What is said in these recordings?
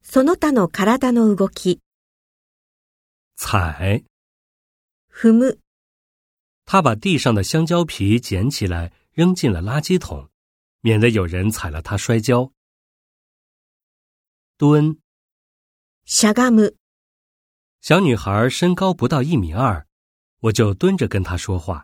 その他の体の動き。 踩。 踏む。 他把地上的香蕉皮捡起来扔进了垃圾桶，免得有人踩了他摔跤。蹲。 しゃがむ。 小女孩身高不到1.2米，我就蹲着跟她说话。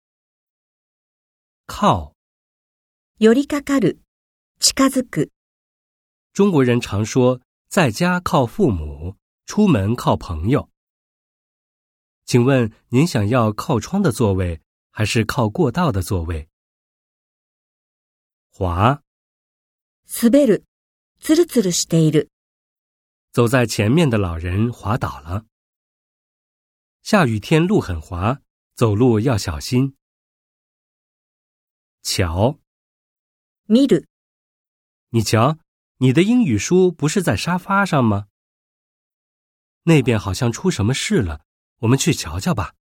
靠。 寄りかかる。近づく。 中国人常说在家靠父母，出门靠朋友。请问您想要靠窗的座位还是靠过道的座位？滑。 滑る。つるつるしている。 走在前面的老人滑倒了。下雨天路很滑，走路要小心。瞧。 見る。 你瞧，你的英语书不是在沙发上吗？那边好像出什么事了，我们去瞧瞧吧。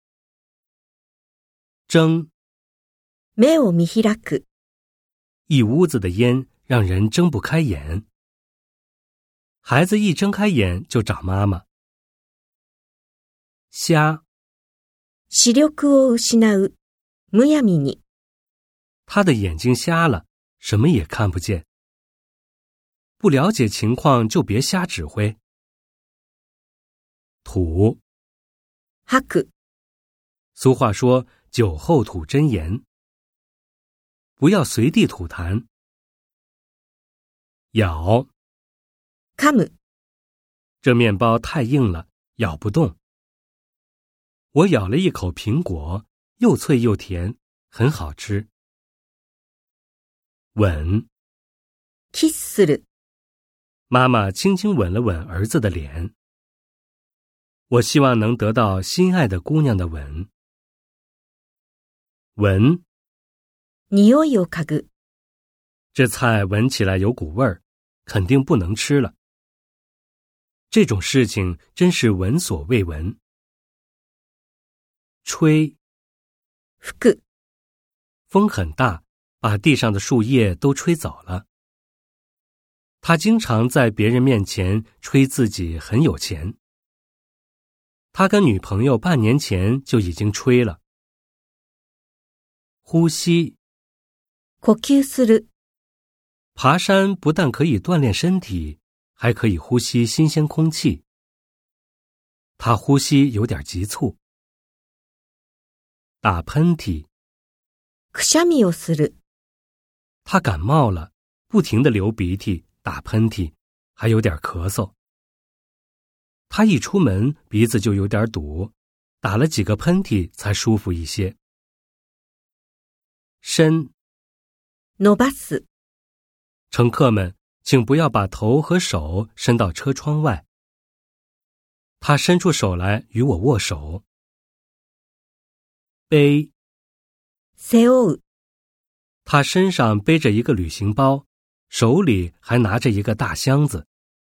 睁。 目を見開く。 一屋子的烟让人睁不开眼。孩子一睁开眼就找妈妈。瞎。 視力を失う。むやみに。 他的眼睛瞎了，什么也看不见。不了解情况就别瞎指挥。吐。 吐く。 俗话说酒后吐真言，不要随地吐痰。咬。 噛む。 这面包太硬了，咬不动。我咬了一口苹果，又脆又甜，很好吃。吻。 キスする。 妈妈轻轻吻了吻儿子的脸。我希望能得到心爱的姑娘的吻。闻。 匂いを嗅ぐ。 这菜闻起来有股味儿，肯定不能吃了。这种事情真是闻所未闻。吹。 吹く。 风很大，把地上的树叶都吹走了。他经常在别人面前吹自己很有钱。他跟女朋友半年前就已经吹了。呼吸。 呼吸する。 爬山不但可以锻炼身体，还可以呼吸新鲜空气。他呼吸有点急促。打喷嚏。 くしゃみをする。 他感冒了，不停地流鼻涕、打喷嚏，还有点咳嗽。他一出门鼻子就有点堵，打了几个喷嚏才舒服一些。伸。 伸ばす。 乘客们，请不要把头和手伸到车窗外。他伸出手来与我握手。背。 背負う。 他身上背着一个旅行包，手里还拿着一个大箱子。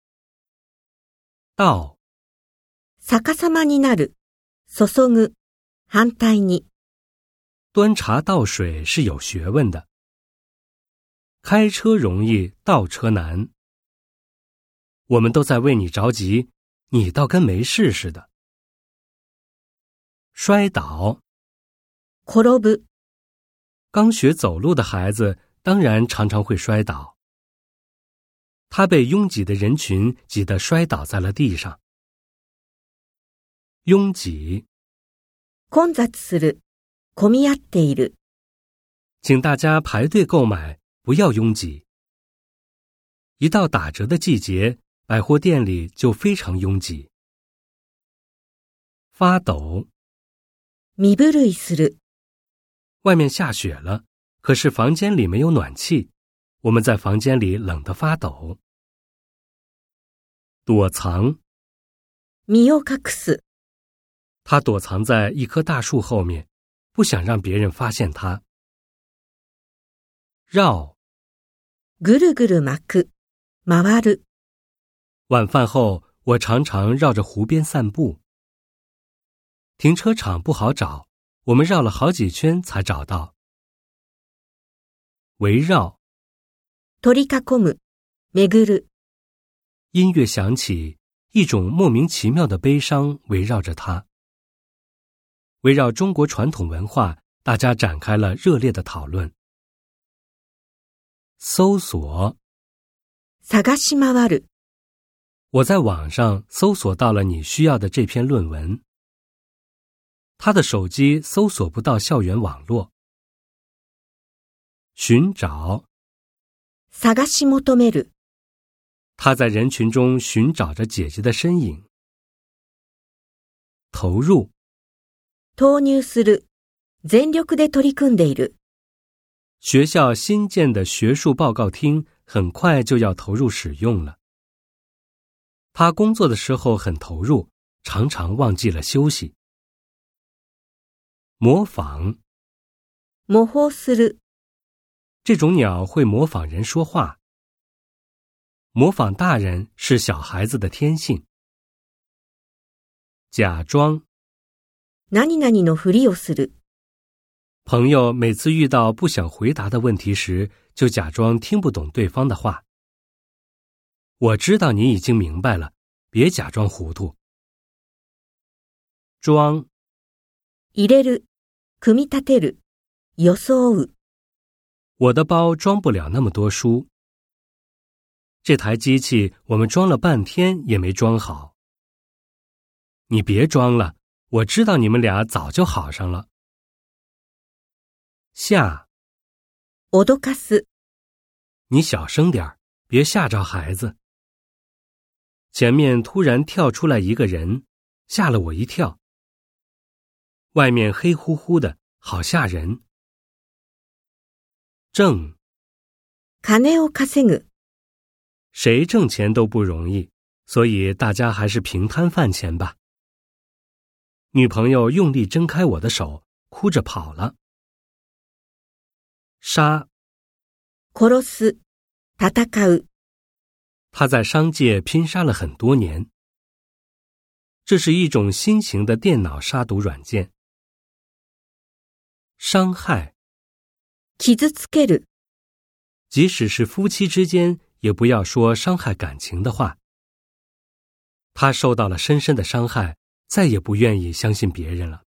倒。 逆さまになる。注ぐ。反対に。 端茶倒水是有学问的。开车容易，倒车难。我们都在为你着急，你倒跟没事似的。摔倒。 転ぶ。 刚学走路的孩子当然常常会摔倒。他被拥挤的人群挤得摔倒在了地上。拥挤。 混雑する。混み合っている。 请大家排队购买，不要拥挤。一到打折的季节，百货店里就非常拥挤。发抖。 身震いする。 外面下雪了，可是房间里没有暖气，我们在房间里冷得发抖。躲藏。 身を隠す。 他躲藏在一棵大树后面，不想让别人发现他。绕。 ぐるぐる巻く。回る。 晚饭后，我常常绕着湖边散步。停车场不好找，我们绕了好几圈才找到。围绕。 取り囲む。巡る。 音乐响起，一种莫名其妙的悲伤围绕着他。围绕中国传统文化，大家展开了热烈的讨论。搜索， 探し回る。 我在网上搜索到了你需要的这篇论文。他的手机搜索不到校园网络。寻找， 探し求める。 他在人群中寻找着姐姐的身影。投入， 投入する。全力で取り組んでいる。 学校新建的学术报告厅很快就要投入使用了。他工作的时候很投入，常常忘记了休息。模仿， 模倣する。 这种鸟会模仿人说话。模仿大人是小孩子的天性。假装， 何々のふりをする。 朋友每次遇到不想回答的问题时，就假装听不懂对方的话。我知道你已经明白了，别假装糊涂。装， 入れる。組み立てる。装う。 我的包装不了那么多书。这台机器我们装了半天也没装好。你别装了，我知道你们俩早就好上了。吓， 脅かす。 你小声点，别吓着孩子。前面突然跳出来一个人，吓了我一跳。外面黑乎乎的，好吓人。挣， 金を稼ぐ。 谁挣钱都不容易，所以大家还是平摊饭钱吧。女朋友用力挣开我的手，哭着跑了。杀， 殺す。戦う。 他在商界拼杀了很多年。这是一种新型的电脑杀毒软件。伤害， 傷つける。 即使是夫妻之间，也不要说伤害感情的话。他受到了深深的伤害，再也不愿意相信别人了。